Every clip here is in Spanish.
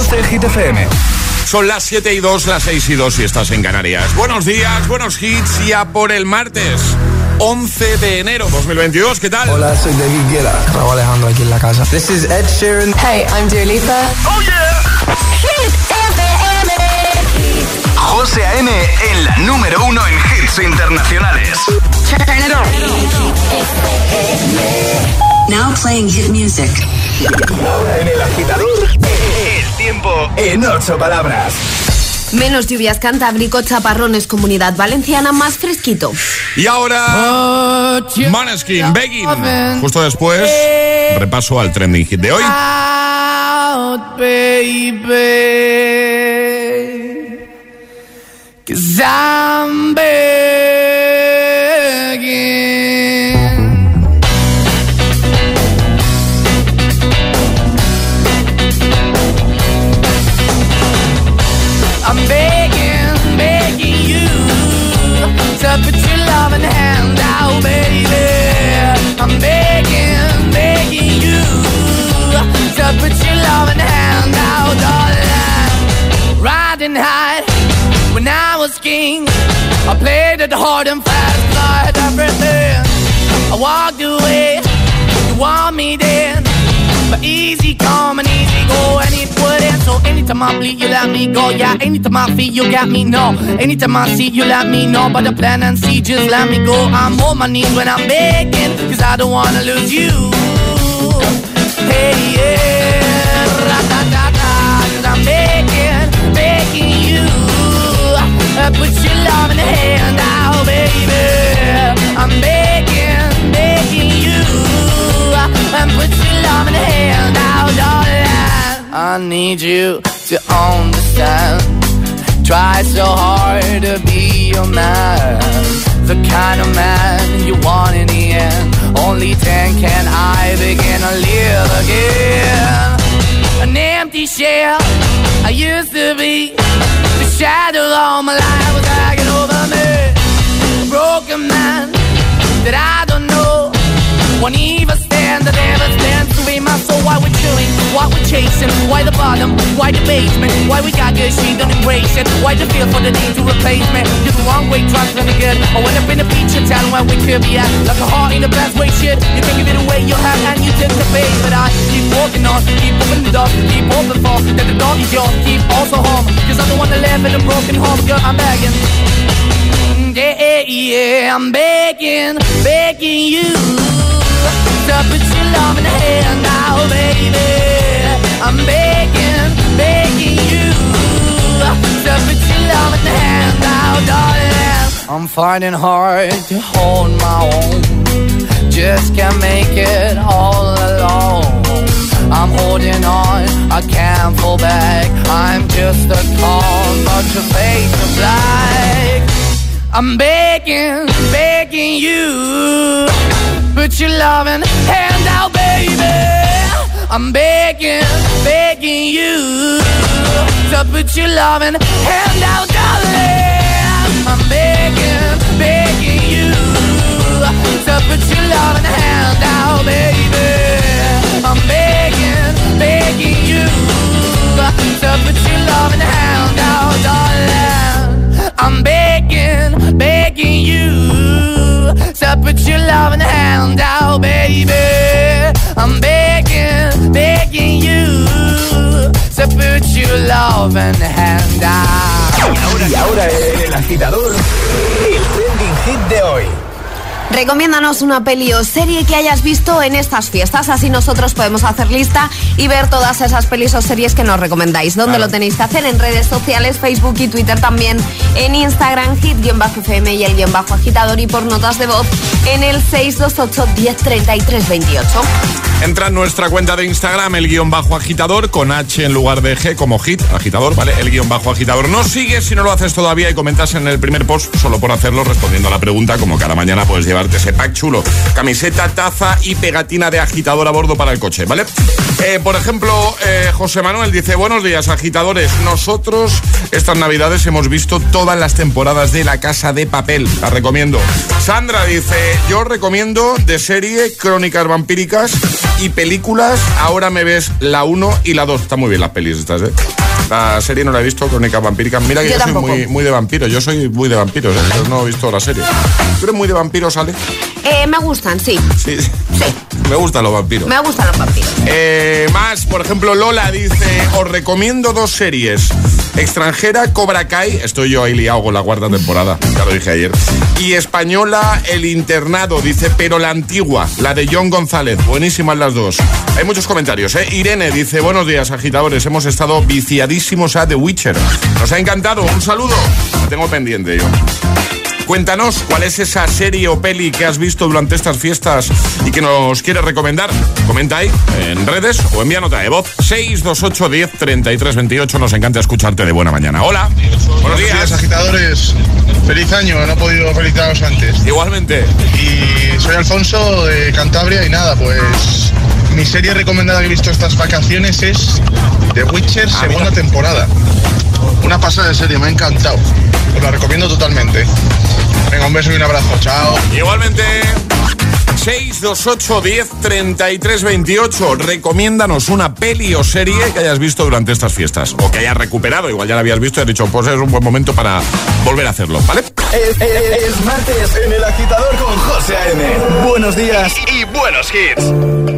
12 Hit FM. Son las 7:02, las 6:02 si estás en Canarias. Buenos días, buenos hits, ya por el martes 11 de enero 2022. ¿Qué tal? Hola, soy David Guetta. Raúl Alejandro aquí en la casa. This is Ed Sheeran. Hey, I'm Dua Lipa. ¡Oh, yeah! Hit FM. José A.M. en la número 1 en hits internacionales. Turn it on. Now playing hit music. Ahora en El Agitador, el tiempo en 8 palabras. Menos lluvias, Cantábrico, chaparrones, Comunidad Valenciana, más fresquito. Y ahora, Måneskin, Begging. Justo después, repaso al trending hit de hoy. Out, baby, 'cause I'm begging. I'm begging, begging you to put your loving hand out, baby. I'm begging, begging you to put your loving hand out, darling. Riding high when I was king, I played it hard and fast, like everything. I walked away, you want me then, but easy come and easy go, and it wouldn't. So anytime I bleed, you let me go. Yeah, anytime I feel, you got me, no. Anytime I see, you let me know. But the plan and see, just let me go. I'm on my knees when I'm begging, 'cause I don't wanna lose you. Hey, yeah, ra-da-da-da, 'cause I'm begging, begging you. Put your love in the hand out, baby. I'm begging, begging you. And put your love in the hand out, darling. I need you to understand. Try so hard to be your man, the kind of man you want in the end. Only then can I begin to live again. An empty shell I used to be, the shadow all my life was hanging over me. A broken man that I don't know, won't even stand, I never stand to be my soul. Why we're chilling, why we're chasing, why the bottom, why the basement, why we got good, she don't embrace it, why the feel for the need to replace me. You're the wrong way, trying to be good. I went up in a feature town where we could be at, like a heart in the best way, shit. You can give it away, you have, and you took the bait. But I keep walking on, keep moving the door, keep open for, that the dog is yours, keep also home, 'cause I'm the one that live in a broken home, girl, I'm begging. Yeah, yeah, I'm begging, begging you to put your love in the hand now, baby. I'm begging, begging you to put your love in the hand now, darling. I'm finding hard to hold my own, just can't make it all alone. I'm holding on, I can't fall back, I'm just a call, but your face is black. I'm begging, begging you, put your loving hand out, baby. I'm begging, begging you to put your loving hand out, darling. I'm begging, begging you to put your loving hand out, baby. I'm begging, begging you to put your loving hand out, darling. I'm begging, begging you to put your loving hand out, baby. I'm begging, begging you to put your loving hand out. Y ahora El Agitador, el trending hit de hoy. Recomiéndanos una peli o serie que hayas visto en estas fiestas, así nosotros podemos hacer lista y ver todas esas pelis o series que nos recomendáis. ¿Dónde lo tenéis que hacer? En redes sociales, Facebook y Twitter, también en Instagram, hit-fm y el _agitador, y por notas de voz en el 628 1033 28. Entra en nuestra cuenta de Instagram, el _agitador, con H en lugar de G, como hit, agitador, ¿vale? El _agitador. Nos sigues si no lo haces todavía y comentas en el primer post, solo por hacerlo, respondiendo a la pregunta, como cada mañana puedes llevarte ese pack chulo, camiseta, taza y pegatina de agitador a bordo para el coche, ¿vale? Por ejemplo, José Manuel dice: buenos días, agitadores. Nosotros estas navidades hemos visto todas las temporadas de La Casa de Papel, la recomiendo. Sandra dice: yo recomiendo de serie Crónicas Vampíricas Y películas, ahora me ves la 1 y la 2. Están muy bien las pelis estas, ¿eh? La serie no la he visto, Crónicas Vampíricas. Mira que yo soy muy de vampiros. Yo soy muy de vampiros, ¿eh? Yo no he visto la serie. ¿Tú eres muy de vampiros, Ale? Me gustan, sí. Sí. Me gustan los vampiros. Me gustan los vampiros. Más, por ejemplo, Lola dice: os recomiendo 2 series. Extranjera, Cobra Kai. Estoy yo ahí liado con la 4ª temporada. Ya lo dije ayer. Y española, El Internado. Dice, pero la antigua, la de John González. Buenísimas las 2. Hay muchos comentarios, ¿eh? Irene dice: buenos días, agitadores. Hemos estado viciadísimos a The Witcher. Nos ha encantado. Un saludo. La tengo pendiente yo. Cuéntanos cuál es esa serie o peli que has visto durante estas fiestas y que nos quieres recomendar. Comenta ahí en redes o envía nota de voz 628 10 33 28. Nos encanta escucharte de buena mañana. Hola. Buenos días, agitadores. Feliz año, no he podido felicitaros antes. Igualmente. Y soy Alfonso de Cantabria y nada, pues mi serie recomendada que he visto estas vacaciones es The Witcher, segunda temporada. Una pasada de serie, me ha encantado. Os la recomiendo totalmente. Venga, un beso y un abrazo. Chao. Igualmente. 628 10 33 28. Recomiéndanos una peli o serie que hayas visto durante estas fiestas o que hayas recuperado. Igual ya la habías visto y has dicho, pues es un buen momento para volver a hacerlo, ¿vale? Es martes en El Agitador con José A.M. Buenos días y buenos hits.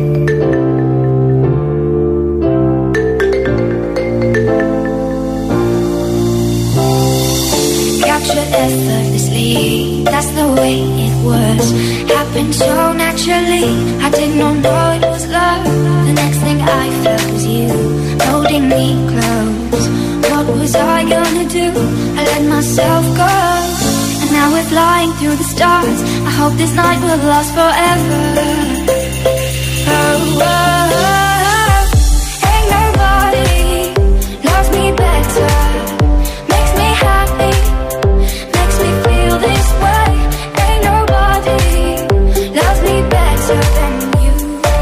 Effortlessly, that's the way it was. Happened so naturally, I did not know it was love. The next thing I felt was you, holding me close. What was I gonna do? I let myself go. And now we're flying through the stars. I hope this night will last forever. Oh, oh, oh. Ain't nobody loves me better. Makes me happy. This way, ain't nobody loves me better than you.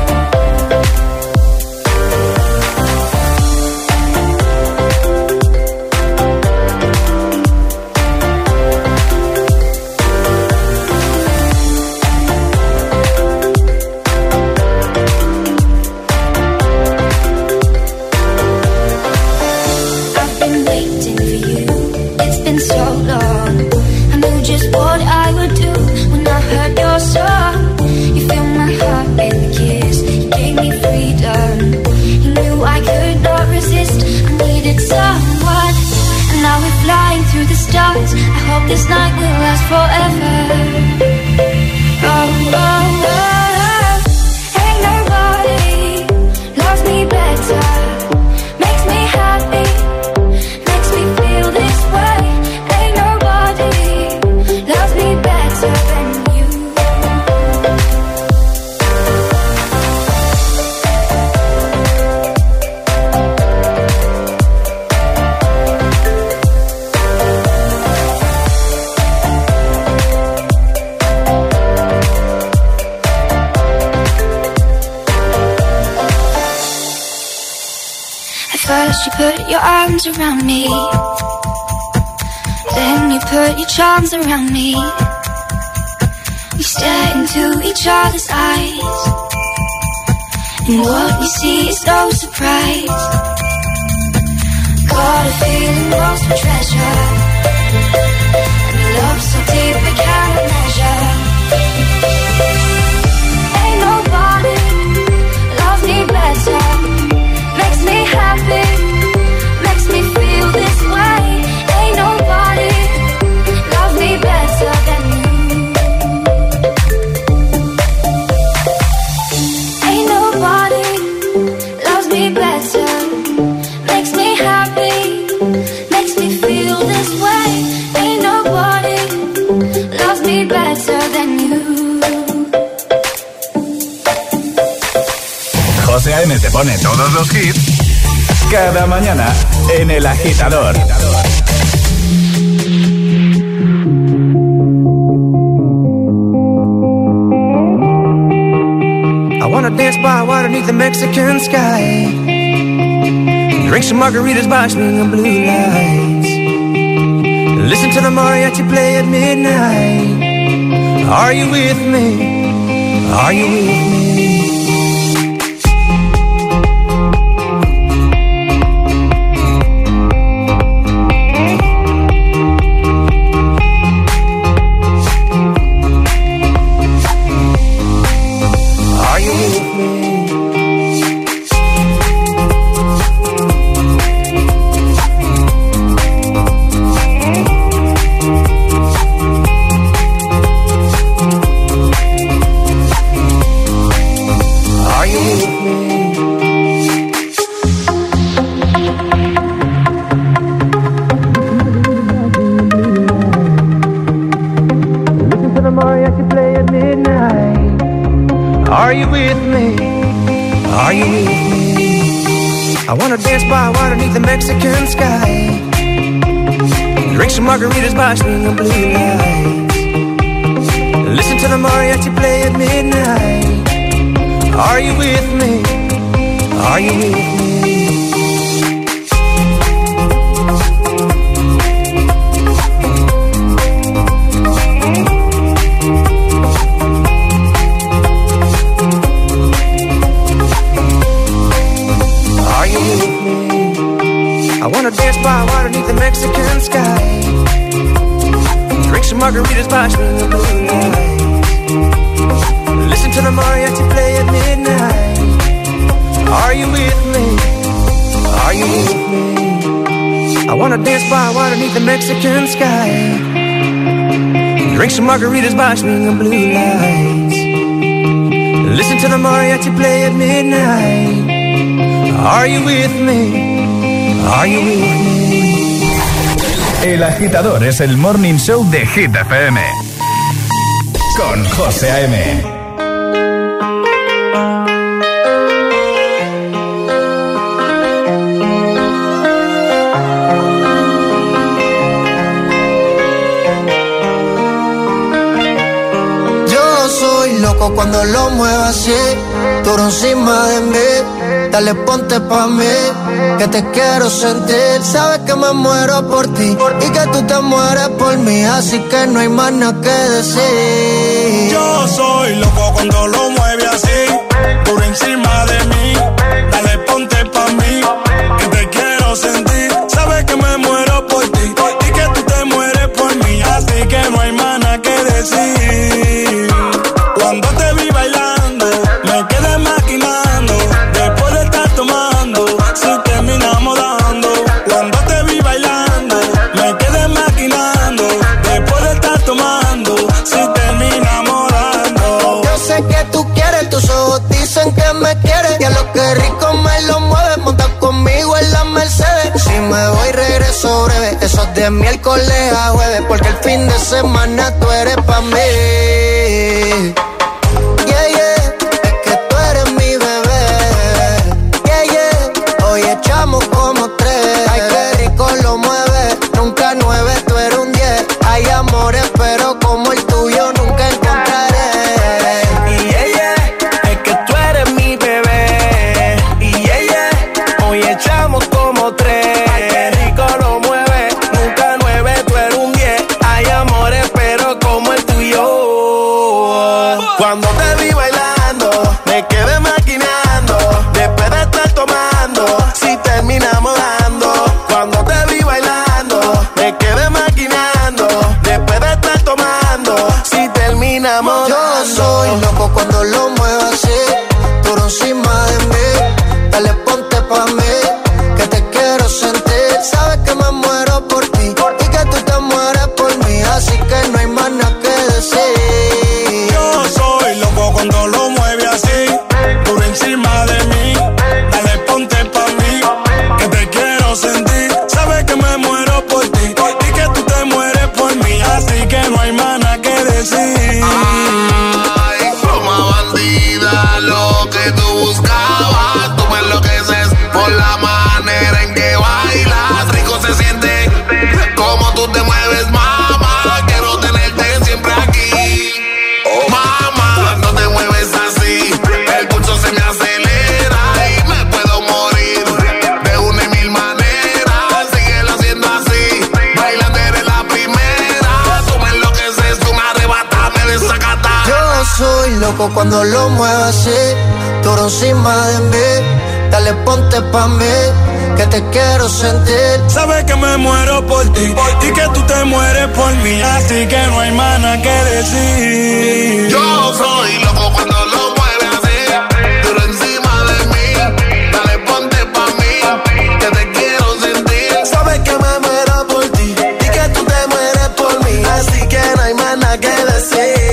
I've been waiting for you, it's been so long. Just what I would do when I heard your song. You filled my heart with a kiss. You gave me freedom. You knew I could not resist. I needed someone. And now we're flying through the stars. I hope this night will last forever. Oh, oh, oh. Ain't nobody loves me better. Makes me happy. Makes me feel this way. Ain't nobody loves me better than you. At first you put your arms around me, then you put your charms around me. We stare into each other's eyes, and what we see is no surprise. Got a feeling lost for treasure, and love so deep we cannot measure. Ain't nobody loves me better. Makes me happy, makes me feel this way. Ain't nobody loves me better than you. Ain't nobody loves me better. Makes me happy, makes me feel this way. Ain't nobody loves me better than you. José A.M. te pone todos los hits cada mañana en El Agitador. I wanna dance by water beneath the Mexican sky, drink some margaritas by swinging blue lights, listen to the mariachi play at midnight. Are you with me? Are you with me? I wanna dance by water beneath the Mexican sky. Drink some margaritas by swinging blue lights. Listen to the mariachi play at midnight. Are you with me? Are you with me? I wanna dance by water beneath the Mexican sky. Drink some margaritas by swinging blue lights. Listen to the mariachi play at midnight. Are you with me? Are you with me? I wanna dance by water beneath the Mexican sky. Drink some margaritas by swinging blue lights. Listen to the mariachi play at midnight. Are you with me? Are you with me? El Agitador es el Morning Show de Hit FM. Con José A.M. Yo soy loco cuando lo muevo así, duro encima de mí. Dale, ponte pa' mí, que te quiero sentir. Sabes que me muero por ti y que tú te mueres por mí, así que no hay más nada que decir. Yo soy loco cuando lo mueve así, por encima de mí. Dale, ponte pa' mí, que te quiero sentir. Sabes que me muero por ti y que tú te mueres por mí, así que no hay más nada que decir. Cuando te vi bailando, me quedé maquinando. Después de estar tomando, si terminamos dando. Cuando te vi bailando, me quedé maquinando. Después de estar tomando, si terminamos dando. Yo sé que tú quieres, tus ojos dicen que me quieres. Y a lo que rico me lo mueves, monta conmigo en la Mercedes. Si me voy regreso breve, eso es de miércoles a jueves, porque el fin de semana tú eres pa' mí. Yeah, yeah, es que tú eres mi bebé. Yeah, yeah, hoy echamos como 3. Ay, qué rico lo mueve, nunca 9, tú eres un 10. Hay amores, pero como el tuyo nunca encontraré. Y yeah, yeah, es que tú eres mi bebé. Y yeah, yeah, hoy echamos como 3. Ay, qué rico lo mueve, nunca 9, tú eres un 10. Hay amores, pero como el tuyo. Cuando te vi bailando, me quedé maquinando. Después de estar tomando, si terminamos dando. Cuando te vi bailando, me quedé maquinando. Después de estar tomando, si terminamos Yo dando. soy loco cuando lo muevo así, duro encima de mí. Dale, ponte pa' mí, que te quiero sentir. Sabes que me muero por ti y que tú te mueres por mí, así que no hay más nada que decir. Yo soy loco cuando lo mueve así, por encima de mí. Dale, ponte pa' mí, que te quiero sentir. Sabes que me muero por ti y que tú te mueres por mí, así que no hay más nada que decir. Ay, como bandida, lo que tú buscabas, tú me enloqueces por la manera en que bailas. Rico se siente como tú te mueves, mamá. Quiero tenerte siempre aquí. Mamá, cuando te mueves así, el pulso se me acelera y me puedo morir de una y mil maneras. Síguelo haciendo así, bailando eres la primera. Tú me enloqueces, tú me arrebatas, me desacatas. Yo soy loco cuando lo muevo así, duro encima de mí. Dale, ponte pa' mí, que te quiero sentir. Sabes que me muero por ti y que tú te mueres por mí, así que no hay más nada que decir. Yo soy loco cuando lo mueve así, duro encima de mí. Dale, ponte pa' mí, que te quiero sentir. Sabes que me muero por ti y que tú te mueres por mí, así que no hay más nada que decir. 7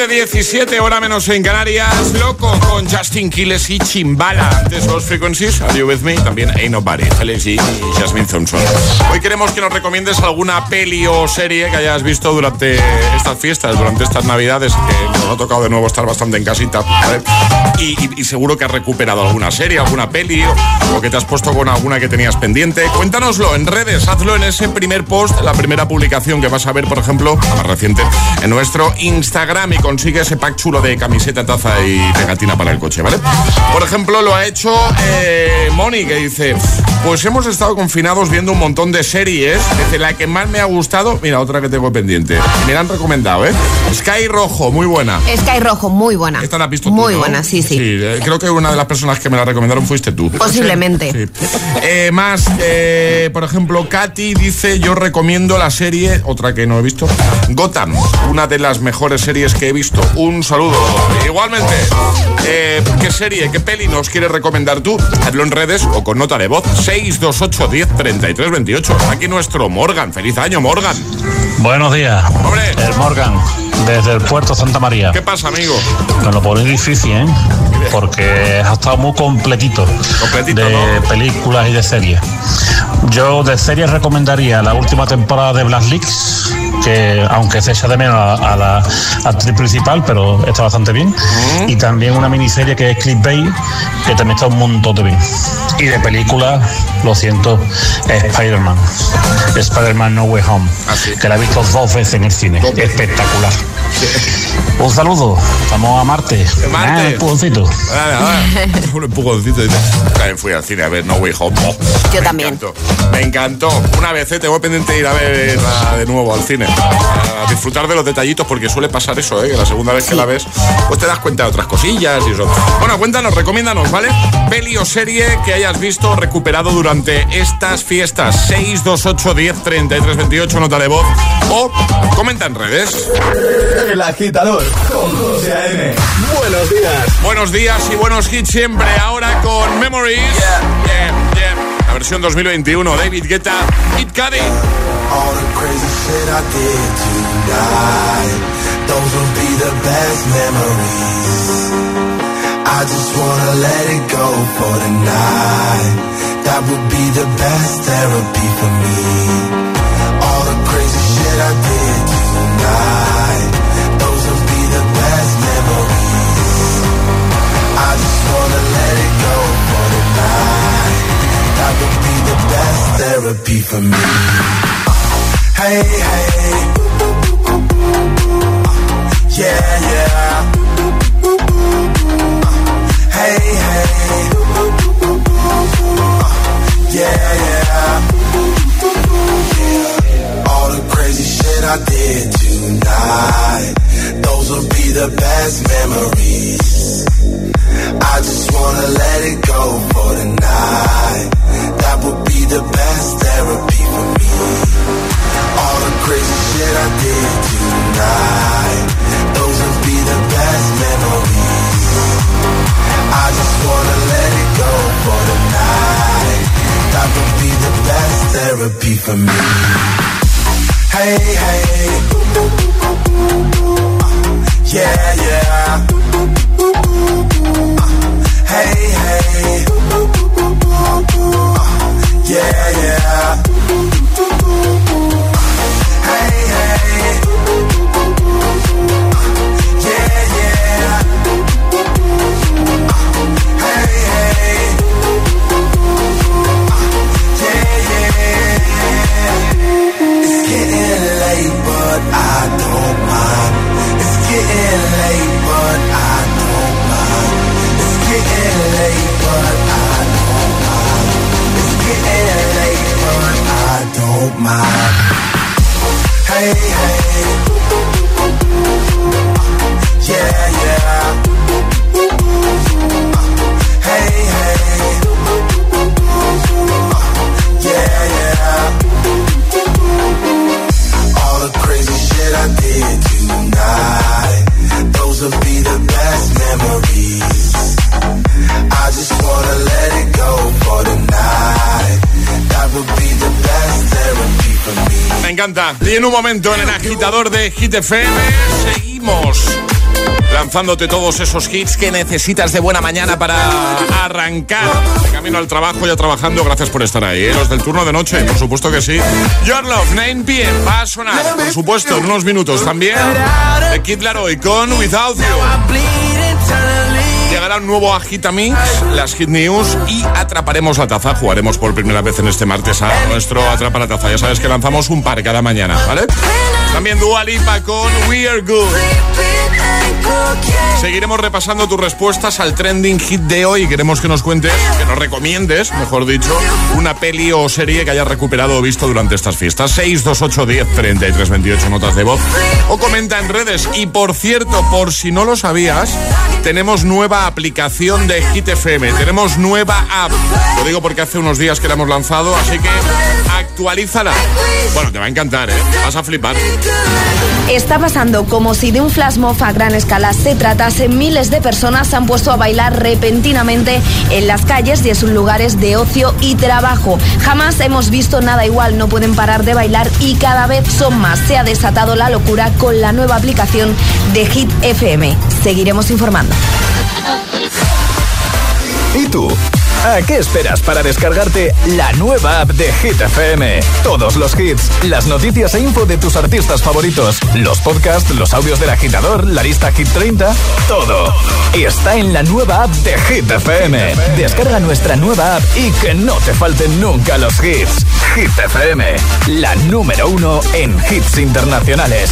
7:17, hora menos en Canarias. Loco con Justin Quiles y Chimbala. Antes Lost Frequencies, Are You With Me? También Ain't Nobody, Felix y Jasmine Thompson. Hoy queremos que nos recomiendes alguna peli o serie que hayas visto durante estas fiestas, durante estas navidades, que nos ha tocado de nuevo estar bastante en casita, ¿vale? Y seguro que has recuperado alguna serie, alguna peli o que te has puesto con alguna que tenías pendiente. Cuéntanoslo en redes, hazlo en ese primer post, la primera publicación que vas a ver, por ejemplo, la más reciente, en nuestro Instagram, y consigue ese pack chulo de camiseta, taza y pegatina para el coche, ¿vale? Por ejemplo, lo ha hecho Moni, que dice: pues hemos estado confinados viendo un montón de series. Desde la que más me ha gustado, mira, otra que tengo pendiente, me la han recomendado, Sky Rojo, muy buena. Sky Rojo, muy buena. Esta la has visto tú, muy ¿no? buena, sí. Creo que una de las personas que me la recomendaron fuiste tú. Posiblemente. Sí. Más, por ejemplo, Katy dice: yo recomiendo la serie, otra que no he visto, Gotham, una de las mejores series que he visto. Un saludo. Igualmente, ¿qué serie, qué peli nos quieres recomendar tú? Hazlo en redes o con nota de voz. 628 10 33 28. Aquí nuestro Morgan. Feliz año, Morgan. Buenos días. Hombre. El Morgan, desde el puerto Santa María. ¿Qué pasa, amigo? Me lo pone difícil, porque ha estado muy completito de ¿no? películas y de series. Yo de series recomendaría la última temporada de Black Leaks, que aunque se echa de menos a la actriz principal, pero está bastante bien. Y también una miniserie que es Clickbait, que también está un montón de bien. Y de películas, lo siento, Spider-Man No Way Home, que la he visto 2 veces en el cine. Espectacular. Un saludo, estamos a Marte. Un empujoncito. Un empujoncito. También fui al cine a ver No Way Home. Yo también. Me encantó. Una vez tengo pendiente de ir a verla de nuevo al cine. A disfrutar de los detallitos, porque suele pasar eso, que la segunda vez que la ves, pues te das cuenta de otras cosillas y eso. Bueno, cuéntanos, recomiéndanos, ¿vale? Peli o serie que hayas visto o recuperado durante estas fiestas. 628 10 33 28, nota de voz, o comenta en redes. El Agitador con José A.M. Buenos días. Buenos días y buenos hits siempre. Ahora con Memories. La versión 2021, David Guetta, Kid Cudi. All the crazy shit I did tonight, those will be the best memories. I just wanna let it go for the night. That would be the best therapy for me. All the crazy shit I did tonight, those will be the best memories. I just wanna let it go for the night. That would be the best therapy for me. Hey, hey, yeah, yeah. Hey, hey, yeah, yeah. All the crazy shit I did tonight, those will be the best memories. I just wanna let it go for the night. That would be the best therapy for me. All the crazy shit I did tonight, those will be the best memories. I just wanna let it go for the night. That would be the best therapy for me. Hey, hey, yeah, yeah. Hey, hey, yeah, yeah. Hey, hey, yeah, yeah. Hey, hey, yeah, yeah. It's getting late, but I don't mind. It's getting late, but I don't mind. It's getting late, but I don't mind. It's getting late, but I don't mind. Hey, hey, yeah, yeah. Hey, hey, yeah, yeah. All the crazy shit I did tonight, those will be the best memories. I just wanna let it go for the night. That would be the best therapy for me. Me encanta. Y en un momento en el agitador de Hit FM seguimos lanzándote todos esos hits que necesitas de buena mañana para arrancar de camino al trabajo, ya trabajando. Gracias por estar ahí, los del turno de noche, por supuesto que sí. Your Love, 9 p.m. va a sonar, por supuesto, en unos minutos también. The Kid Laroi con Without You. Llegará un nuevo Agitamix, las Hit News y atraparemos la taza. Jugaremos por primera vez en este martes a nuestro Atrapa la Taza. Ya sabes que lanzamos un par cada mañana, ¿vale? También Dua Lipa con We Are Good. Seguiremos repasando tus respuestas al trending hit de hoy. Queremos que nos cuentes, que nos recomiendes, mejor dicho, una peli o serie que hayas recuperado o visto durante estas fiestas. 628 10 33 28 notas de voz o comenta en redes. Y por cierto, por si no lo sabías, tenemos nueva aplicación de Hit FM. Tenemos nueva app. Lo digo porque hace unos días que la hemos lanzado, así que actualízala. Bueno, te va a encantar, ¿eh? Vas a flipar. Está pasando como si de un flash mob a gran escala se tratase. Miles de personas se han puesto a bailar repentinamente en las calles y en sus lugares de ocio y trabajo. Jamás hemos visto nada igual, no pueden parar de bailar y cada vez son más. Se ha desatado la locura con la nueva aplicación de Hit FM. Seguiremos informando. ¿Y tú? ¿A qué esperas para descargarte la nueva app de Hit FM? Todos los hits, las noticias e info de tus artistas favoritos, los podcasts, los audios del agitador, la lista Hit 30, todo. Está en la nueva app de Hit FM. Descarga nuestra nueva app y que no te falten nunca los hits. Hit FM, la número 1 en hits internacionales.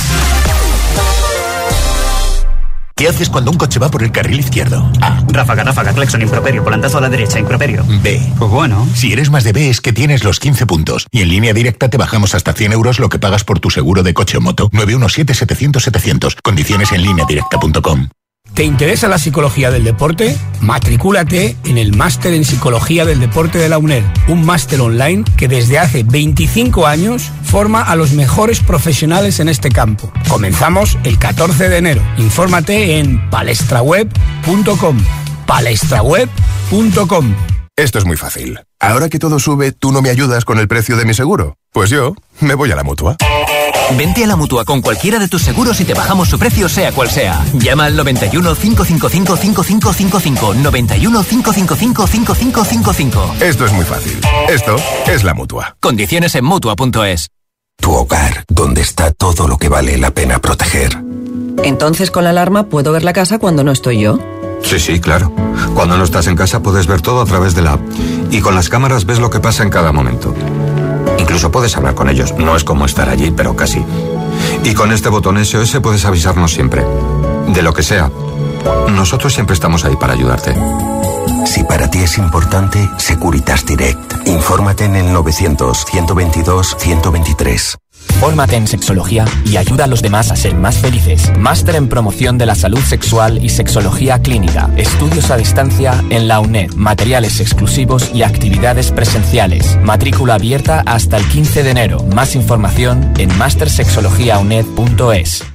¿Qué haces cuando un coche va por el carril izquierdo? A. Ráfaga, claxon, improperio, volantazo a la derecha, improperio. B. Pues bueno. Si eres más de B es que tienes los 15 puntos. Y en Línea Directa te bajamos hasta 100 euros lo que pagas por tu seguro de coche o moto. 917-700-700. Condiciones en lineadirecta.com. ¿Te interesa la psicología del deporte? Matricúlate en el Máster en Psicología del Deporte de la UNED, un máster online que desde hace 25 años forma a los mejores profesionales en este campo. Comenzamos el 14 de enero. Infórmate en palestraweb.com. palestraweb.com. Esto es muy fácil. Ahora que todo sube, ¿tú no me ayudas con el precio de mi seguro? Pues yo me voy a la Mutua. Vente a la Mutua con cualquiera de tus seguros y te bajamos su precio sea cual sea. Llama al 91 555 5555. 91 555 5555. Esto es muy fácil. Esto es la Mutua. Condiciones en Mutua.es. Tu hogar, donde está todo lo que vale la pena proteger. Entonces con la alarma puedo ver la casa cuando no estoy yo. Sí, claro. Cuando no estás en casa puedes ver todo a través de la app. Y con las cámaras ves lo que pasa en cada momento. Incluso puedes hablar con ellos. No es como estar allí, pero casi. Y con este botón SOS puedes avisarnos siempre. De lo que sea. Nosotros siempre estamos ahí para ayudarte. Si para ti es importante, Securitas Direct. Infórmate en el 900-122-123. Fórmate en sexología y ayuda a los demás a ser más felices. Máster en promoción de la salud sexual y sexología clínica. Estudios a distancia en la UNED. Materiales exclusivos y actividades presenciales. Matrícula abierta hasta el 15 de enero. Más información en mastersexologiauned.es.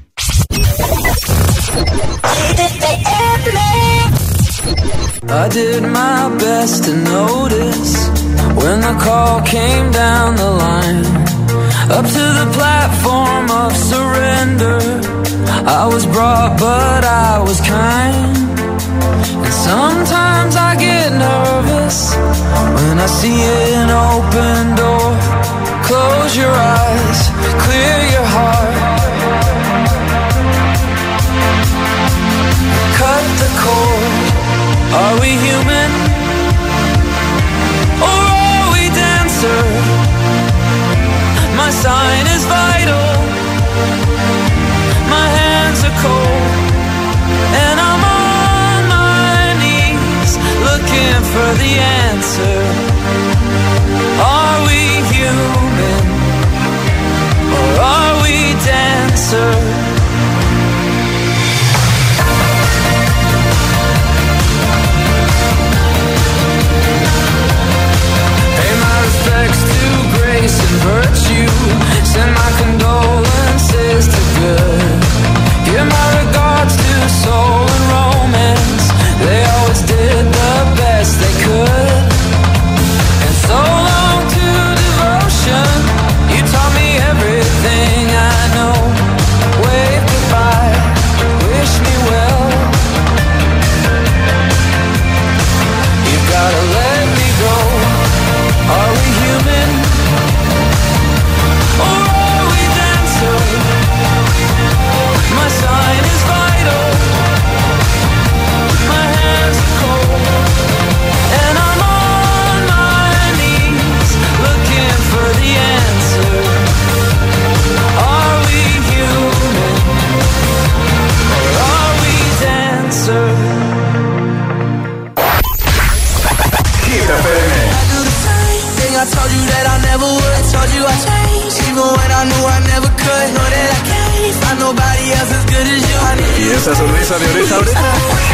I did my best to notice when the call came down the line. Up to the platform of surrender, I was brought but I was kind. And sometimes I get nervous when I see an open door. Close your eyes, clear your heart. Cut the cord. Are we human? Or are we dancer? My sign is vital. My hands are cold. And I'm on my knees looking for the answer. Are we human? Or are we dancer? Respects to grace and virtue. Send my condolences to good. Give my regards to soul and romance. They always did the best they could. never would. I told you I changed, even when I knew I never could. Know that I can't find nobody else as good as you. ¿Y esa sonrisa de oreja a oreja?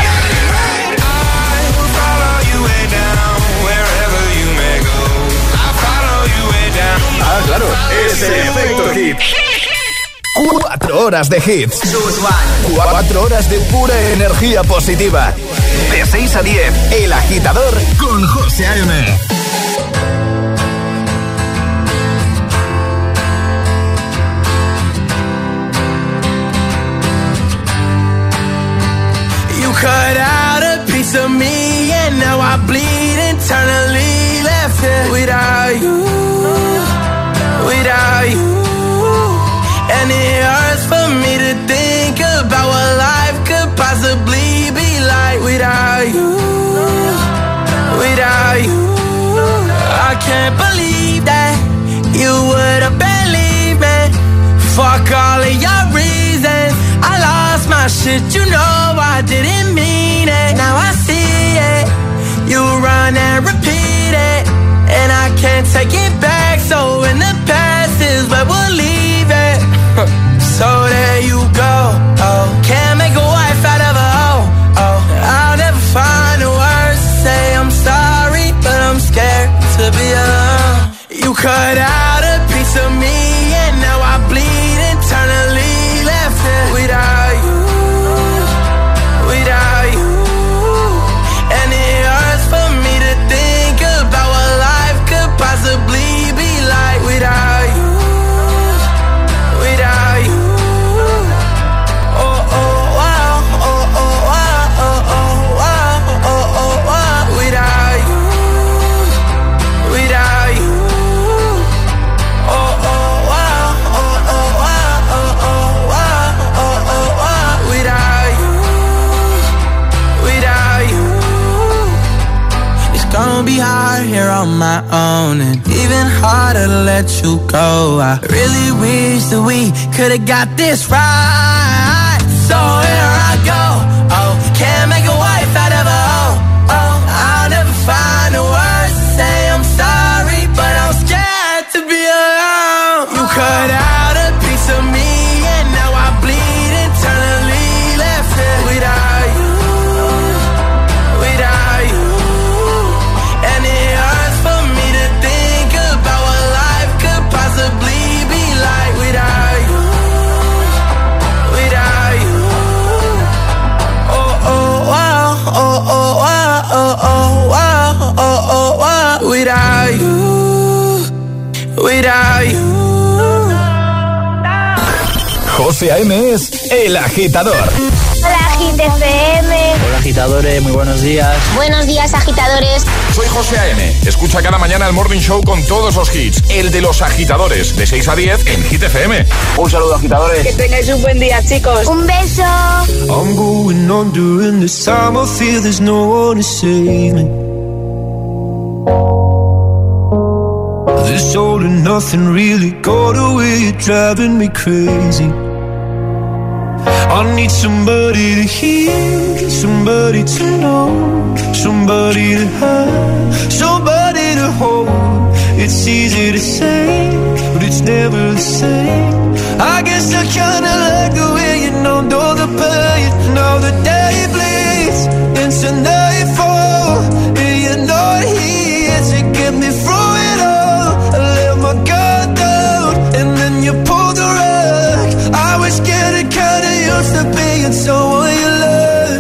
Ah, claro, es el efecto hit. 4 horas de hits. 4 horas de pura energía positiva. De 6 a 10, El Agitador con José A.M. You cut out a piece of me and now I bleed internally. Left here without you, without you. And it hurts for me to think about what life could possibly be like without you, without you. I can't believe that you would have believed me. Fuck all of your reasons. I lost my shit, you know I didn't mean it. Now I see it. You run and repeat it, and I can't take it back. So in the past is where we'll leave it. So there you go. Oh, can't make a wife out of a hoe. Oh, I'll never find the words to say I'm sorry, but I'm scared to be alone. You cut out a piece of me, and now I bleed internally. Left it without you, without you. And it hurts for me to think about what life could possibly be like without you, without you. Oh, oh, wow, oh, oh, wow, oh, oh, wow, oh, oh, wow. Without you, without you. Oh, oh, wow, oh, oh, wow, oh, oh, wow, oh, oh, wow. Without you, without you. It's gonna be hard here on my own, and even harder to let you go. I really wish that we could've got this right. So here I go. Oh, can't make a wife out of a hoe. Oh, I'll never find the words to say I'm sorry, but I'm scared to be alone. You cut out a piece of me, and now I bleed internally. Left it without you, without you. And it hurts for me to think about what life could possibly be like without you, without you. Oh, oh, wow, oh, oh, wow, oh, oh, wow, oh, oh, wow. Without you, without you. José A.M. es El Agitador. Hola, Hit FM. Hola, agitadores, muy buenos días. Buenos días, agitadores. Soy José A.M. Escucha cada mañana el Morning Show con todos los hits. El de los agitadores, de 6 a 10 en Hit FM. Un saludo, agitadores. Que tengáis un buen día, chicos. Un beso. I'm going on during this time. I feel there's no one to save me. This all and nothing really got away. You're driving me crazy. I need somebody to hear, somebody to know, somebody to have, somebody to hold. It's easy to say, but it's never the same. I guess I kinda like the way you know the pain. Now the day bleeds into nightfall, and you're not here to get me through it all. I let my guard down, and then you pulled the rug. I was getting kinda used to being someone you love.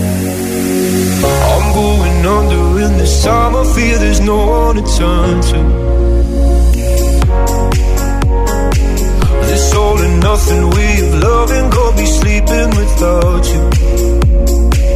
I'm going under in this time. I feel there's no one to turn to. This all and nothing way of loving got me sleeping without you.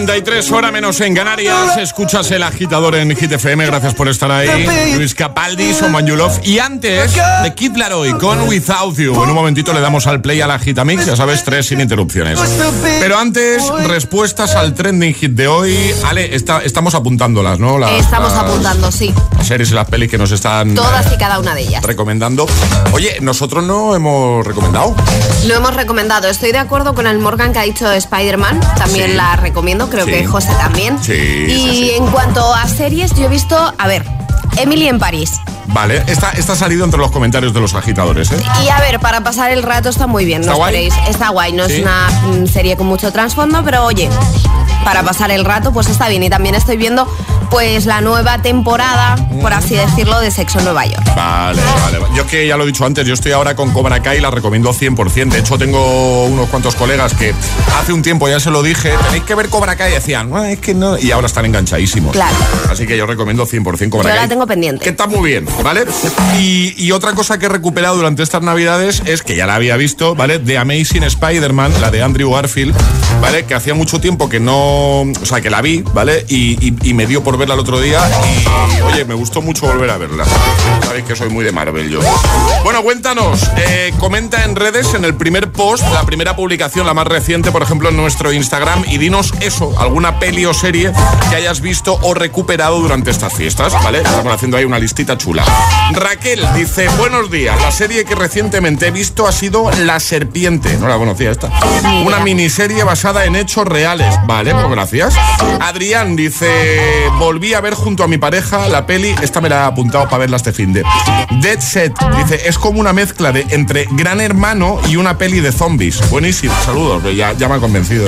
8:33, hora menos en Canarias. Escuchas El Agitador en Hit FM. Gracias por estar ahí. Luis Capaldi, Someone You Love. Y antes, de Kid Laroi con Without You. En un momentito le damos al play a la Gitamix. Ya sabes, 3 sin interrupciones. Pero antes, respuestas al trending hit de hoy. Ale, estamos apuntándolas, ¿no? Estamos apuntando, sí. Las series y las pelis que nos están... Todas y cada una de ellas. Recomendando. Oye, nosotros no hemos recomendado. Lo hemos recomendado. Estoy de acuerdo con el Morgan que ha dicho Spider-Man. También la recomiendo. Creo que José también. Y en cuanto a series, yo he visto... A ver, Emily en París. Vale, esta ha salido entre los comentarios de los agitadores, ¿eh? Y a ver, para pasar el rato está muy bien. ¿Está guay? Está guay. No es una serie con mucho trasfondo, pero oye, para pasar el rato pues está bien. Y también estoy viendo pues la nueva temporada, por así decirlo, de Sexo en Nueva York. Vale. Yo que ya lo he dicho antes, yo estoy ahora con Cobra Kai y la recomiendo 100%. De hecho, tengo unos cuantos colegas que hace un tiempo ya se lo dije, tenéis que ver Cobra Kai, y decían, no, es que no, y ahora están enganchadísimos. Claro. Así que yo recomiendo 100% Cobra Kai. Yo la tengo pendiente. Que está muy bien, ¿vale? Y otra cosa que he recuperado durante estas navidades es que ya la había visto, ¿vale? The Amazing Spider-Man, la de Andrew Garfield, ¿vale? Que hacía mucho tiempo que no... O sea, que la vi, ¿vale? Y me dio por verla el otro día y, oye, me gustó mucho volver a verla. Sabéis que soy muy de Marvel yo. Bueno, cuéntanos, comenta en redes, en el primer post, la primera publicación, la más reciente, por ejemplo, en nuestro Instagram, y dinos eso, alguna peli o serie que hayas visto o recuperado durante estas fiestas, ¿vale? Estamos haciendo ahí una listita chula. Raquel dice, buenos días, la serie que recientemente he visto ha sido La Serpiente. No la conocía esta. Una miniserie basada en hechos reales. Vale, pues gracias. Adrián dice, volví a ver junto a mi pareja la peli, esta me la he apuntado para verla este finde. Dead Set, dice, es como una mezcla de entre Gran Hermano y una peli de zombies. Buenísimo, saludos, ya me ha convencido,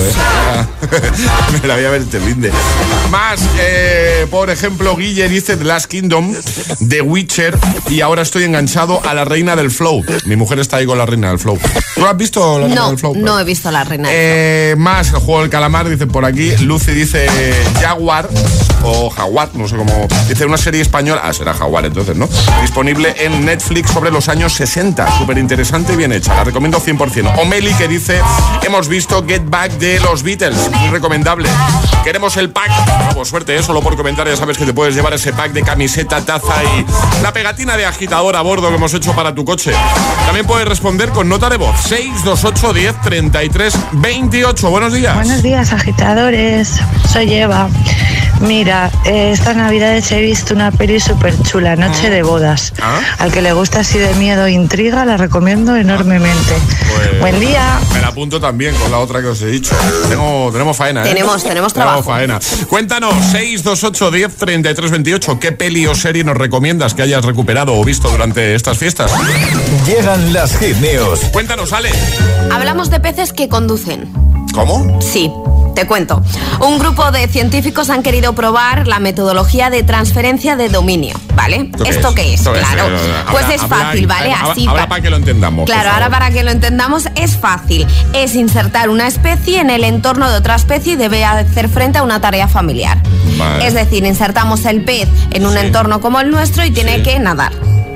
me la voy a ver este finde. Más, por ejemplo, Guille dice The Last Kingdom, The Witcher, y ahora estoy enganchado a La Reina del Flow. Mi mujer está ahí con La Reina del Flow. ¿Tú has visto La Reina del Flow? No he visto La Reina del Flow. Más, el juego del calamar, dice por aquí. Lucy dice Jaguar o Jaguar, no sé cómo. Dice una serie española, será Jaguar entonces, ¿no? Disponible en Netflix sobre los años 60. Súper interesante y bien hecha, la recomiendo 100%. O Meli que dice, hemos visto Get Back de los Beatles, muy recomendable. Queremos el pack, por suerte, solo por comentar ya sabes que te puedes llevar ese pack de camiseta, taza y la pegatina de agitador a bordo que hemos hecho para tu coche. También puedes responder con nota de voz, 628 10 33 28. Buenos días. Buenos días, agitadores. Soy Eva. Mira, estas navidades he visto una peli súper chula, Noche de Bodas. Al que le gusta así de miedo e intriga, la recomiendo enormemente. Pues, buen día. Me la apunto también con la otra que os he dicho. Tenemos faena, Tenemos trabajo. Faena. Cuéntanos, 628 10 33 28. ¿Qué peli o serie nos recomiendas que hayas recuperado o visto durante estas fiestas? Llegan las Hit News. Cuéntanos, Ale. Hablamos de peces que conducen. ¿Cómo? Sí. Te cuento. Un grupo de científicos han querido probar la metodología de transferencia de dominio, ¿vale? ¿Esto qué es? Claro. Pues es fácil, ¿vale? Así ahora para que lo entendamos. Claro, ahora para que lo entendamos es fácil. Es insertar una especie en el entorno de otra especie y debe hacer frente a una tarea familiar. Vale. Es decir, insertamos el pez en un entorno como el nuestro y tiene que nadar.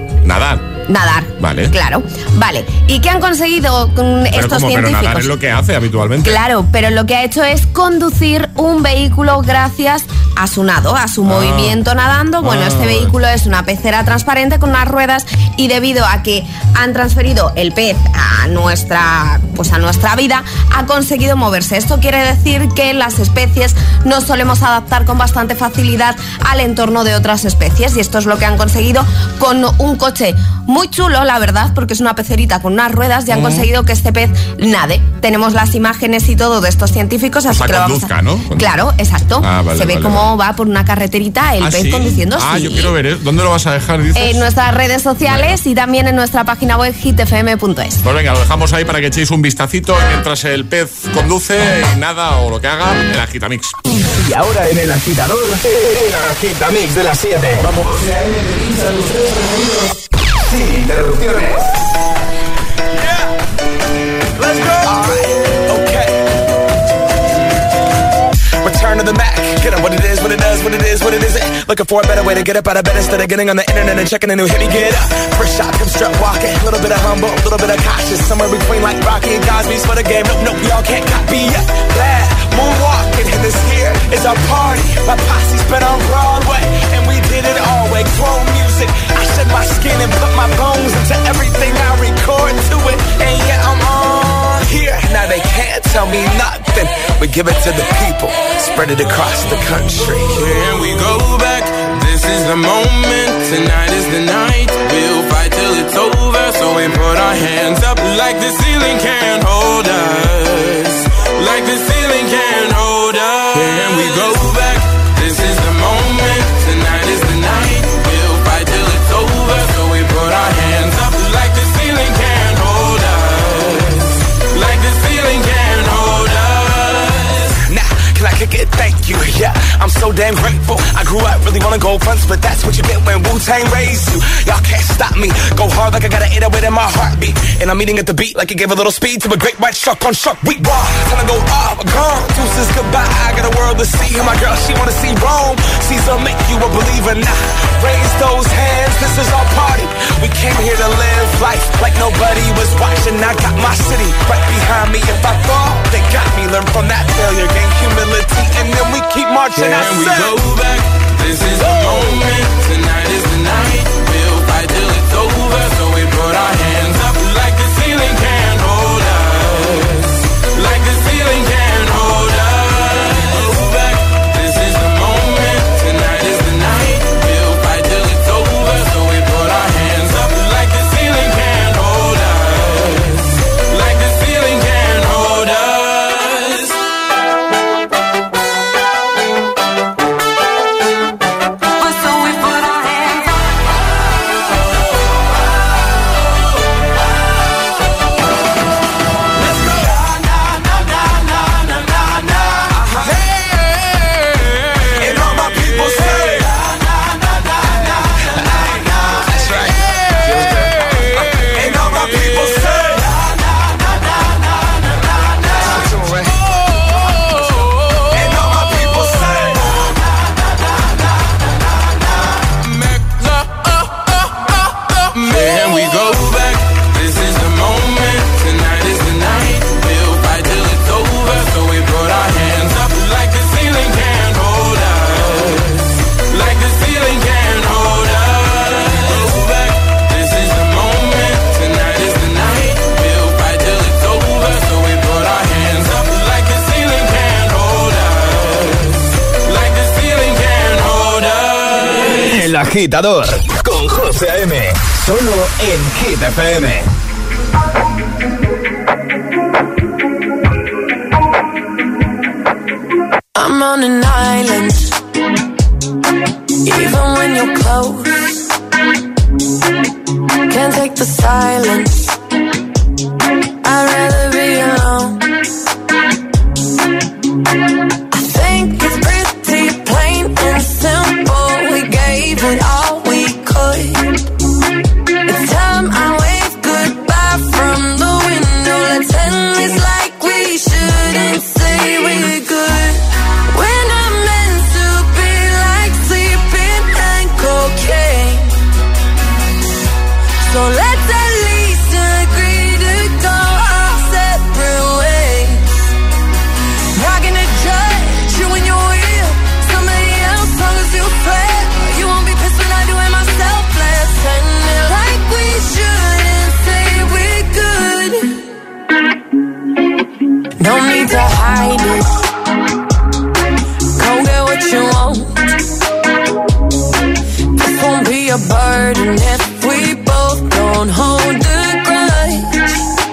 Nadar. Vale. Claro. Vale. ¿Y qué han conseguido estos científicos? Pero nadar es lo que hace habitualmente. Claro, pero lo que ha hecho es conducir un vehículo gracias a su nado, a su movimiento nadando. Bueno, este vehículo es una pecera transparente con unas ruedas y debido a que han transferido el pez a nuestra vida, ha conseguido moverse. Esto quiere decir que las especies nos solemos adaptar con bastante facilidad al entorno de otras especies y esto es lo que han conseguido con un coche muy chulo, la verdad, porque es una pecerita con unas ruedas y han conseguido que este pez nade. Tenemos las imágenes y todo de estos científicos, así que lo vamos a... ¿no? Claro, exacto. Se ve cómo va por una carreterita el pez conduciendo. Yo quiero ver, ¿dónde lo vas a dejar? Dices? En nuestras redes sociales y también en nuestra página web hitfm.es. Pues venga, lo dejamos ahí para que echéis un vistacito mientras el pez conduce y nada o lo que haga en la Gitamix. Y ahora en el agitador, el Gitamix de las 7. Vamos. Sin interrupciones. Let's go. All right. Okay. Return to the Mac. Get up what it is, what it does, what it is, what it isn't. Looking for a better way to get up out of bed instead of getting on the internet and checking a new hit. Get up. First shot, come strut walking. A little bit of humble, a little bit of cautious. Somewhere between like Rocky and Cosby's for the game. Nope, y'all can't copy yet. Bad. moonwalking, and this here is our party. My posse's been on Broadway, and we did it all way. Grown music, I shed my skin and put my bones into everything I record to it. And yeah, I'm on here. Now they can't tell me nothing. We give it to the people, spread it across the country. Can we go back? This is the moment. Tonight is the night. We'll fight till it's over. So we put our hands up like the ceiling can't hold us. Like the ceiling can't hold us. Can we go back? This is the moment. Tonight is the night. We'll fight till it's over. So we put our hands up like the ceiling can't hold us. Like the ceiling can't hold us. Nah, can I kick it? Thank you. Yeah, I'm so damn grateful. I grew up really wanna go fronts, but that's what you get when Wu-Tang raised you. Y'all can't stop me. Go hard like I got an 808 in my heartbeat. And I'm eating at the beat like it gave a little speed to a great white shark on shark. We raw, time to go off, gone. Deuces goodbye. I got a world to see. And my girl, she wanna see Rome. Caesar make you a believer. Nah, raise those hands. This is our party. We came here to live life like nobody was watching. I got my city right behind me. If I fall, they got me. Learn from that failure, gain humility, and then we keep marching. Can we go back? This is the moment. Tonight is the night. We'll fight till it's over. So we put our hands up like the ceiling can't hold us. Like the ceiling can't hold us. Go back. This is the moment. Tonight is the night. We'll fight till it's over. So we put our hands up like the ceiling can't hold us. Like the ceiling can't hold us. Agitador con José A.M. Solo en Hit FM. I'm on an island. Even when you're close, can't take the silence. I'd rather be alone. I think it's pretty plain and simple. We gave it all we could. It's time I wave goodbye from the window. Let's end this like we shouldn't say we're good. We're not meant to be like sleeping and cocaine. So let's at least agree to go our separate ways. Not gonna judge you when you're with somebody else, long as you play. You won't be pissed when I do it myself. Let's end it like we shouldn't say we're good. No need to hide it. Go get what you want. This won't be a burden if we both don't hold the grudge.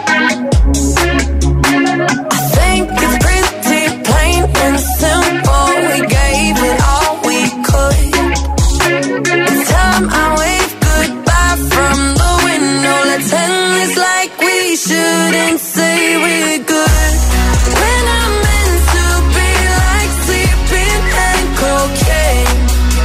I think it's pretty plain and simple. We gave it all we could. It's time I wave goodbye from the window. Let's end this like we shouldn't say we're good. We're not meant to be like sleeping and cocaine.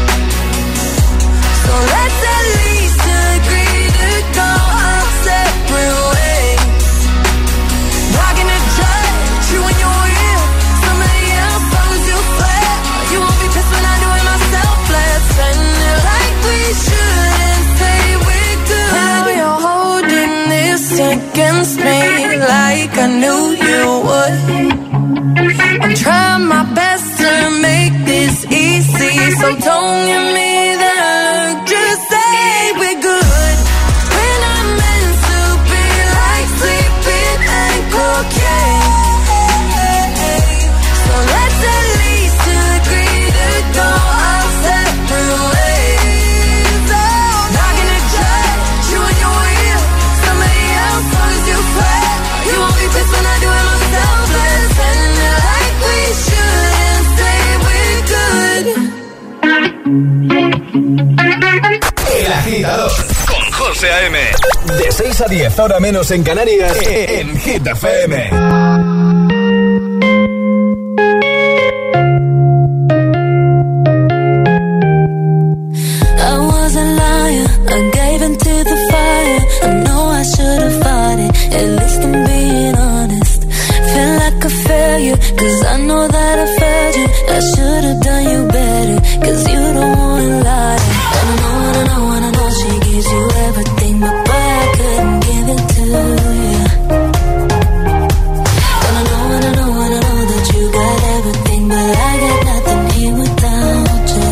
So let's at least agree to go our separate ways. Not gonna judge you when you're with somebody else, long as you play. You won't be pissed when I do it myself. Let's end it like we shouldn't say we're good. Now you're holding this against me like I knew you would. I'm trying my best to make this easy, so don't give me that look, just say we're good. We're not meant to be like sleeping and cocaine, so let's at least agree to go our separate ways. Oh, not gonna judge you and your wheel, somebody else long as you play. You won't be pissed when I do it myself. Let's end it like we should and say we're good. El Agitador con José A.M. De 6 a 10, ahora menos en Canarias, en Hit FM. Cause I know that I failed you. I should have done you better. Cause you don't wanna lie. And I know she gives you everything, but boy, I couldn't give it to you. And I know that you got everything, but I got nothing here without you.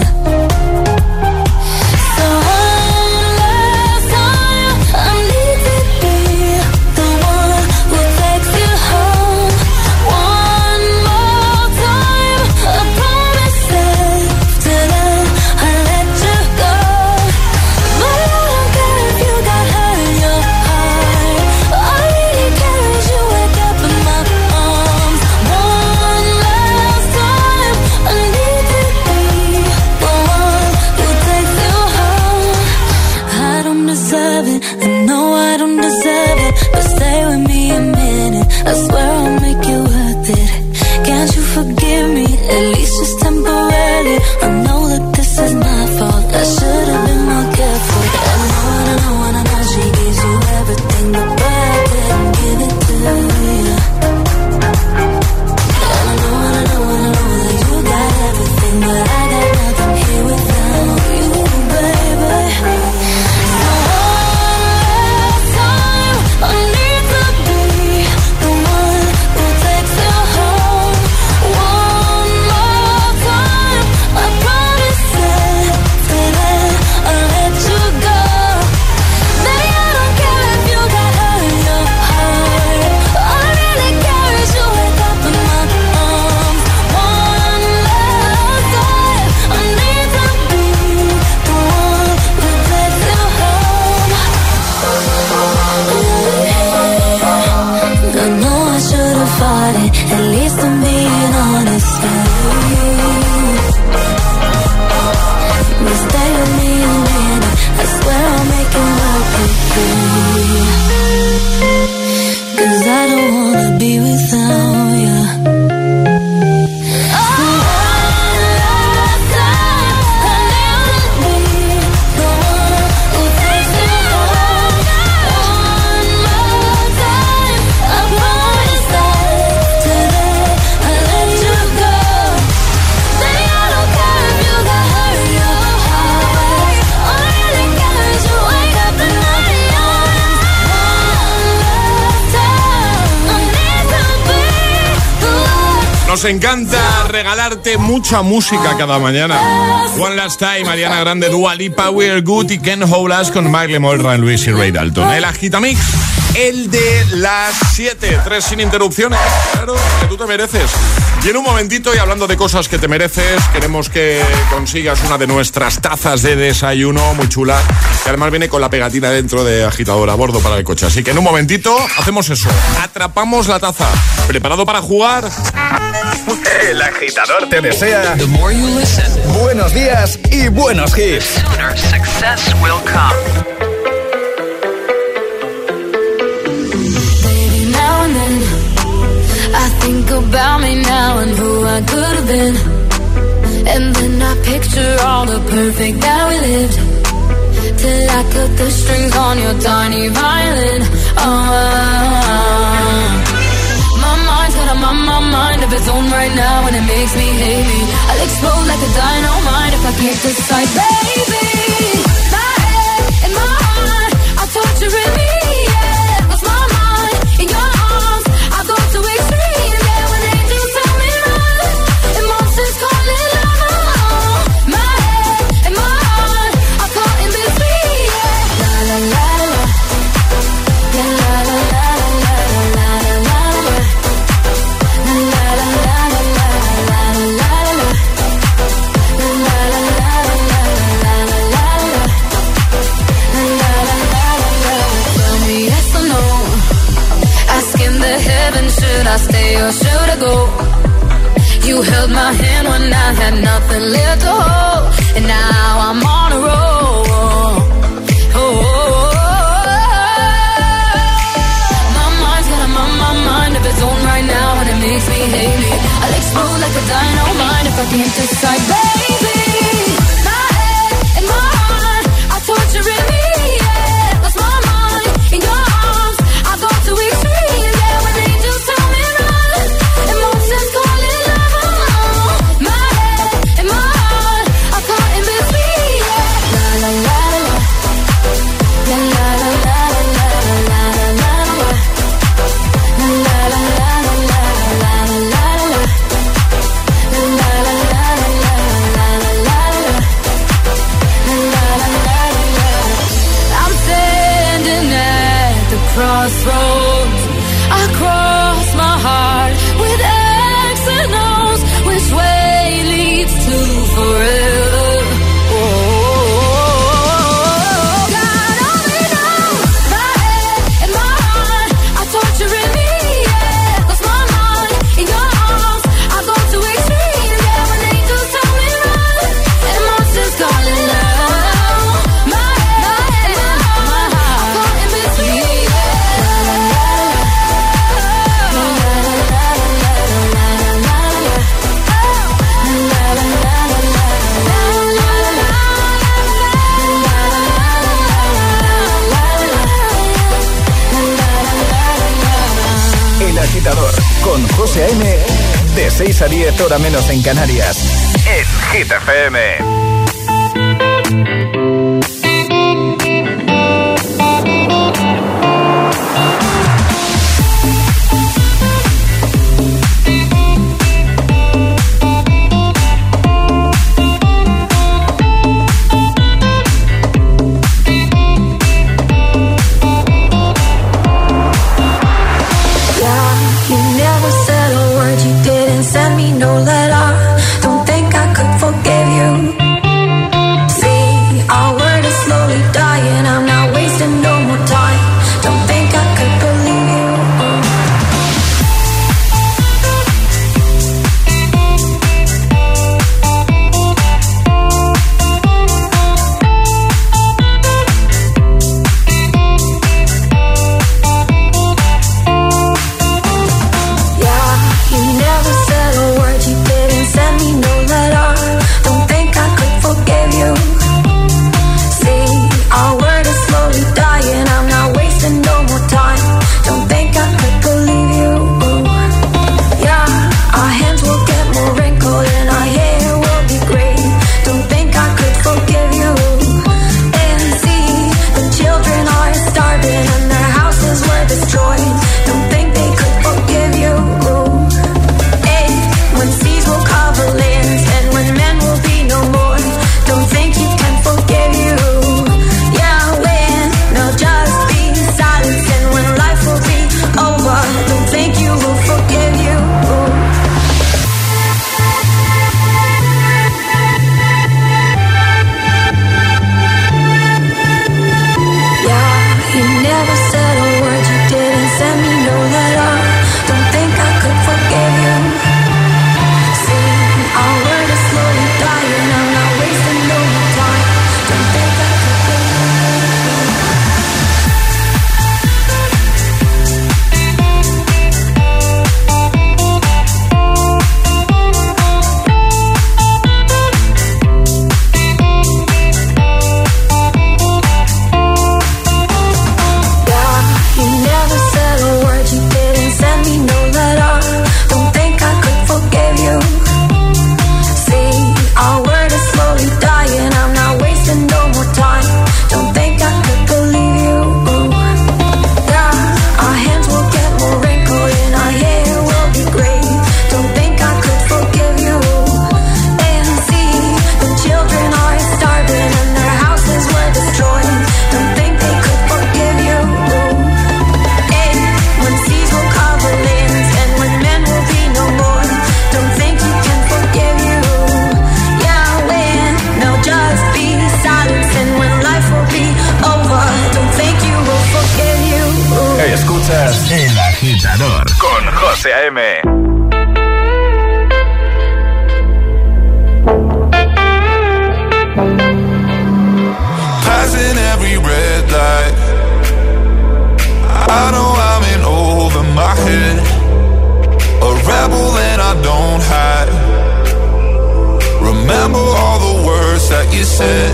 So one last time, I need to be the one who takes you home. One more time, I promise after that I'll let you go. But I don't care if you got hurt in your heart. All I really care is you wake up in my arms. One last time, I need to be the one who takes you home. I don't deserve it, I know I don't deserve it, but stay with me a minute, I swear I'll make it worth it. Can't you forgive me, at least just temporarily? I know that this is my fault, I should have been more careful. And I know she gives you everything, but boy, I couldn't give it to you. And I know that you got everything, but I got nothing here without you, baby. So one last time, I need to be the one who takes you home. One more time, I promise after that I'll let you go. Baby, I don't care if you got hurt in your heart. All I really care is you wake up in my arms. One last time, I need to be the one who takes you home. I know I should have fought it, at least I'm being honest with you. But stay with me a minute, I swear I'll make it work with you. Cause I don't wanna be without you. Nos encanta regalarte mucha música cada mañana. One Last Time, Ariana Grande, Dua Lipa, We're Good y Can't Hold Us con Miley Moira, Luis y Ray Dalton. El Agitamix, el de las 7, 3 sin interrupciones. Claro, que tú te mereces. Y en un momentito, y hablando de cosas que te mereces, queremos que consigas una de nuestras tazas de desayuno muy chula, que además viene con la pegatina dentro de Agitador a bordo para el coche. Así que en un momentito hacemos eso. Atrapamos la taza. ¿Preparado para jugar? El Agitador te desea buenos días y buenos hits. Baby, now and then I think about me now and who I could have been. And then I picture all the perfect that we lived, till I cut the strings on your tiny violin. My mind of its own right now, and it makes me hate me. I'll explode like a dynamite if I can't decide, baby. My head and my heart are torturing me, yeah. Lost my mind in your arms, I go to extreme, yeah. When angels should I go? You held my hand when I had nothing left to hold, and now I'm on a roll. My mind's got my mind of its own right now, and it makes me hate me. I'll explode like a dynamite if I can't decide, baby. My head and my heart are torturing me. Yeah, lost my mind in your arms. I go to extremes. Yeah, when angels tell me run, emotions calling love. My head and my heart are caught in between. Yeah, la la la la, la la la la la la la la la, la la la la la la la la. I'm standing at the crossroads. I cross my heart with X and O's. Which way leads to forever? God only knows. My head and my heart are torturing me. Yeah, lost my mind in your arms. I go to extremes. Yeah, when angels tell me run, emotions calling love. My head and my heart are caught in between. El Agitador con José A.M. de 6 a 10 hora menos en Canarias en Hit FM. You never said a word, you didn't send me no letter. Don't think I could forgive you. See, our word is slowly dying, I'm not wasting no more time. Don't think I could believe you. El Agitador con José José A.M. Passing every red light, I know I'm in over my head, a rebel and I don't hide. Remember all the words that you said.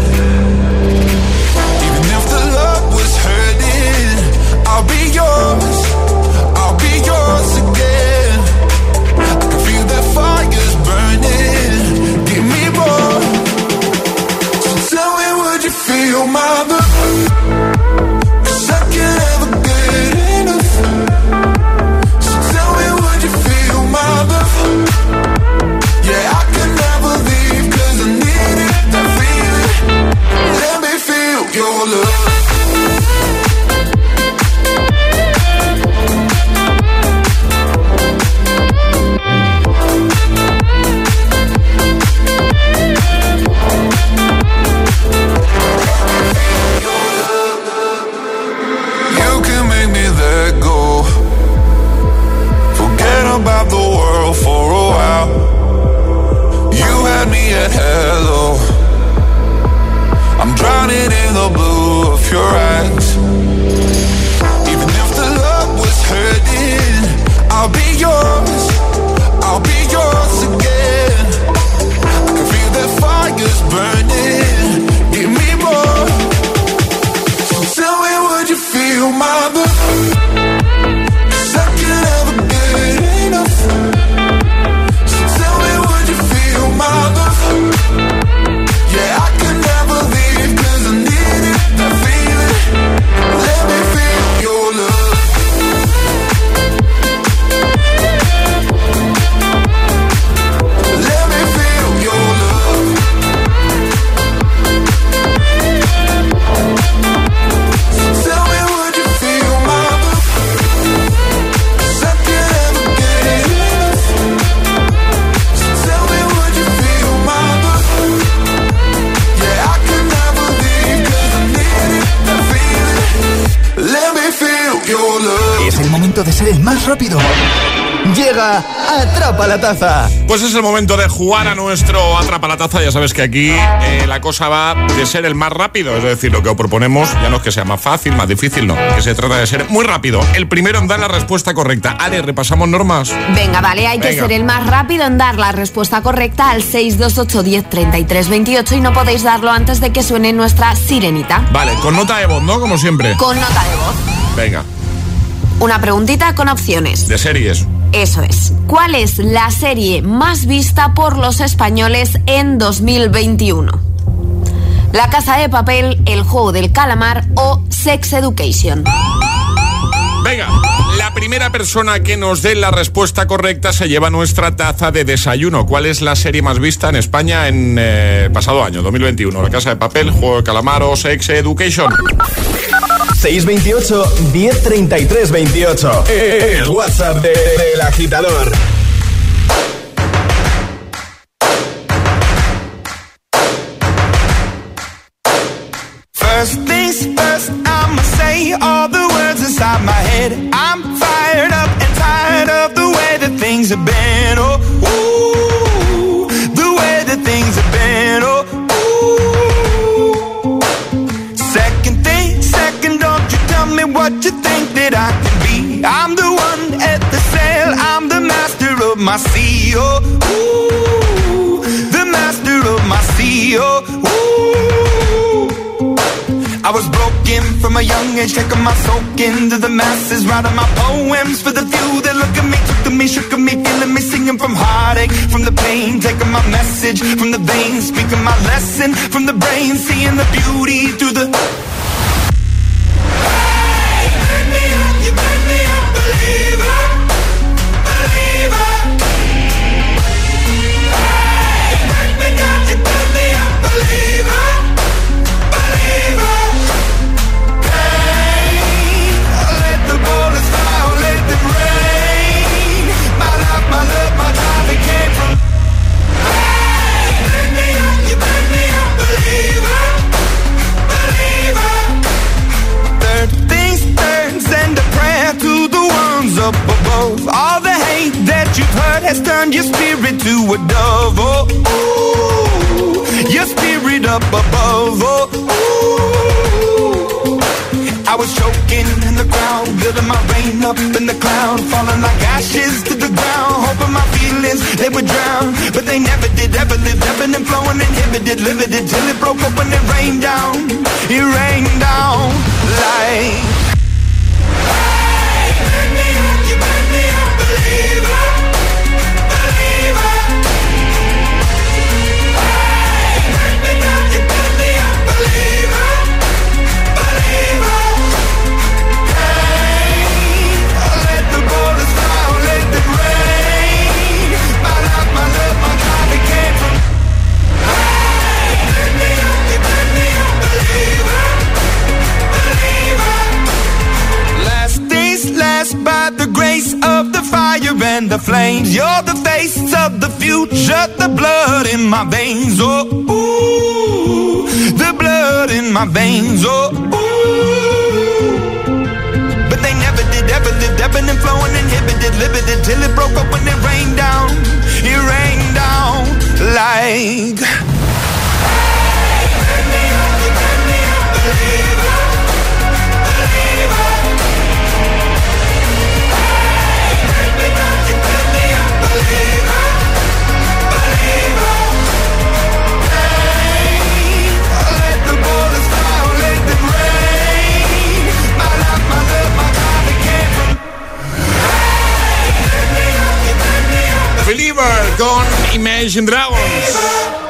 Even if the love was hurting, I'll be yours, I'll be yours again. I can feel that fire's burning, give me more. So tell me, would you feel my love? 'Cause I can't ever get enough. So tell me, would you feel my love? Yeah, I can never leave 'cause I need it, that feeling. Let me feel your love. About the world for a while. You had me at hello. I'm drowning in the blue of your eyes. Even if the love was hurting, I'll be yours, I'll be yours again. I can feel that fire's burning, give me more. So tell me, would you feel my love? 'Cause I can never get enough. So tell me, would you feel my love? Yeah, I can never leave 'cause I need it, that feeling. Let me feel your love. Let me feel your love. So tell me, would you feel my love? 'Cause I can never get enough. So tell me, would you feel my love? Yeah, I can never leave 'cause I need it, that feeling. Let me feel your love. Es el momento de ser el más rápido. Llega Atrapa la Taza. Pues es el momento de jugar a nuestro Atrapa la Taza. Ya sabes que aquí la cosa va de ser el más rápido. Es decir, lo que os proponemos ya no es que sea más fácil, más difícil, no. Que se trata de ser muy rápido. El primero en dar la respuesta correcta. Ale, repasamos normas. Venga, vale, hay que ser el más rápido en dar la respuesta correcta al 628 10 33 28 y no podéis darlo antes de que suene nuestra sirenita. Vale, con nota de voz, ¿no? Como siempre. Con nota de voz. Venga. Una preguntita con opciones. De series. Eso es. ¿Cuál es la serie más vista por los españoles en 2021? La Casa de Papel, El Juego del Calamar o Sex Education. Venga, la primera persona que nos dé la respuesta correcta se lleva nuestra taza de desayuno. ¿Cuál es la serie más vista en España en pasado año, 2021? La Casa de Papel, Juego del Calamar o Sex Education. 628 1033 28. El WhatsApp del agitador. First things first, I'ma say all the words inside my head. I'm fired up and tired of the way that things have been. Oh, ooh, the way that things have been. Oh, ooh. Second thing, second, don't you tell me what you think that I can be. I'm the one at the sail, I'm the master of my sea. Oh, ooh, the master of my sea. Oh, ooh. I was broken from a young age, taking my soak into the masses, writing my poems for the few that look at me, took to me, shook at me, feeling me, singing from heartache, from the pain, taking my message from the veins, speaking my lesson from the brain, seeing the beauty through the... Hey, you make me a believer, believer. Hey, you make me a believer, believer. what you've heard has turned your spirit to a dove. Oh, ooh, your spirit up above. Oh, ooh. I was choking in the crowd, building my rain up in the cloud, falling like ashes to the ground, hoping my feelings, they would drown, but they never did, ever lived, ebbing and flowing, inhibited, limited, till it broke up and it rained down like... Hey, burn me up, you burn me up, believer, believer. Hey, burn me up, you burn me up, believer, believer. By the grace of the fire and the flames, you're the face of the future, the blood in my veins. Oh, ooh, the blood in my veins. Oh, ooh. But they never did, ever lived, ebbing and flowing, inhibited, limited, till it broke up when it rained down like... Hey, burn me up, you burn me up, believer, believer. Believer con Imagine Dragons.